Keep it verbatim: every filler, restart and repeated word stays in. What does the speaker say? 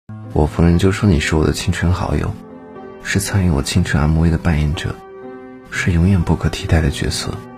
我逢人就说你是我的青春好友，是参与我青春 M V 的扮演者，是永远不可替代的角色。